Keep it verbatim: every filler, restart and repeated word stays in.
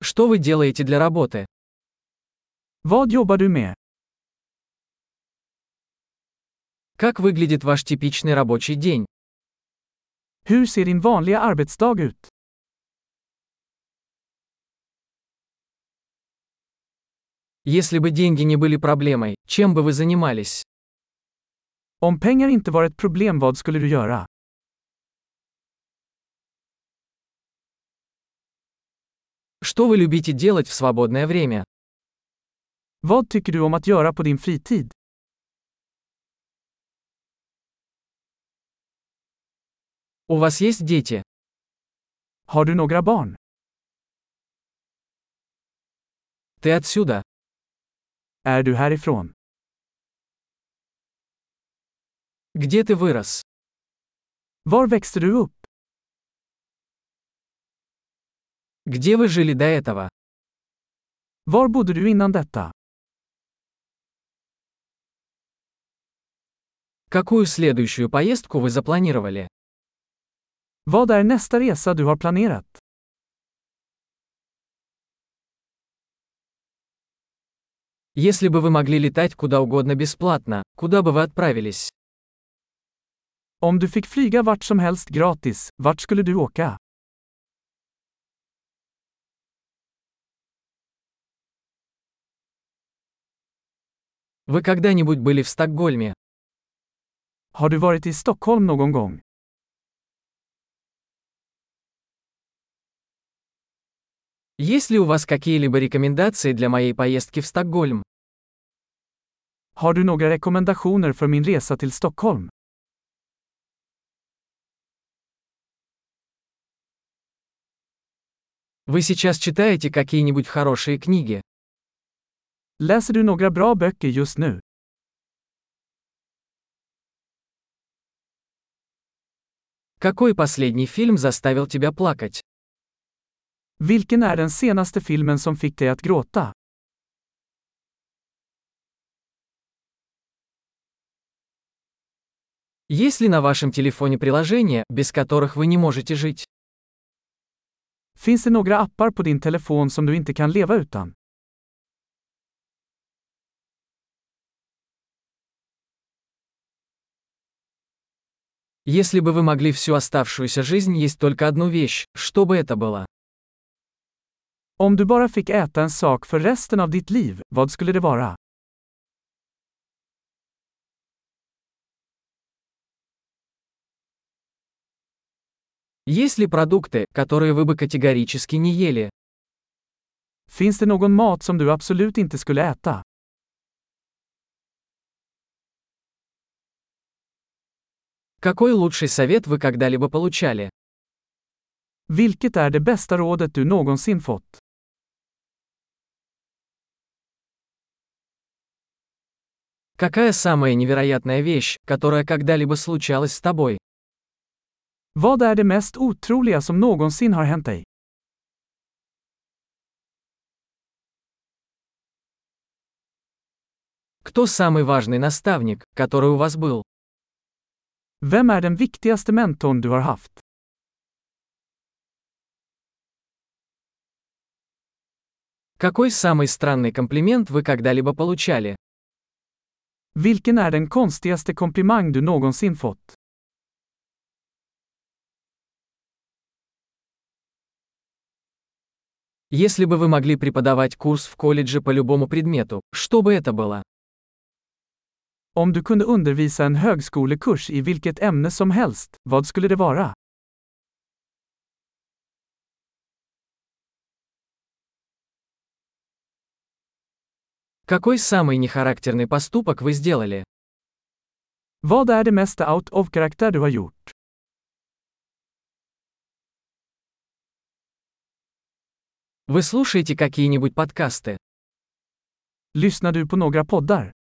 Что вы делаете для работы? Vad jobbar du med? Как выглядит ваш типичный рабочий день? Hur ser din vanliga arbetsdag ut? Если бы деньги не были проблемой, чем бы вы занимались? Om pengar inte var ett problem, vad skulle du göra? Что вы любите делать в свободное время? Vad tycker du om att göra på din fritid? У вас есть дети? Har du några barn? Ты отсюда? Är du härifrån? Где ты вырос? Var växte du upp? Где вы жили до этого? Var bodde du innan detta? Какую следующую поездку вы запланировали? Vad är nästa resa du har planerat? Если бы вы могли летать куда угодно бесплатно, куда бы вы отправились? Om du fick flyga vart som helst gratis, vart skulle du åka? Вы когда-нибудь были в Стокгольме? Har du varit i Stockholm någon gång? Есть ли у вас какие-либо рекомендации для моей поездки в Стокгольм? Har du några rekommendationer för min resa till Stockholm? Вы сейчас читаете какие-нибудь хорошие книги? Läser du några bra böcker just nu? Какой последний фильм заставил тебя плакать? Vilken är den senaste filmen som fick dig att gråta? Есть ли на вашем телефоне приложения, без которых вы не можете жить? Finns det några appar på din telefon som du inte kan leva utan? Если бы вы могли всю оставшуюся жизнь есть только одну вещь, что бы это было? Om du bara fick äta en sak för resten av ditt liv, vad skulle det vara? Есть ли продукты, которые вы бы категорически не ели? Finns det någon mat som du absolut inte skulle äta? Какой лучший совет вы когда-либо получали? Vilket är det bästa rådet du någonsin fått? Какая самая невероятная вещь, которая когда-либо случалась с тобой? Vad är det mest otroliga som någonsin har hänt dig? Кто самый важный наставник, который у вас был? Vem är den viktigaste mentorn du har haft? Какой самый странный комплимент вы когда-либо получали? Vilken är den konstigaste komplimang du någonsin fått? Если бы вы могли преподавать курс в колледже по любому предмету, что бы это было? Om du kunde undervisa en högskolekurs i vilket ämne som helst, vad skulle det vara? Какой самый нехарактерный поступок вы сделали? Vad är det mesta out of karaktär du har gjort? Вы слушаете какие-нибудь подкасты? Lyssnar du på några poddar?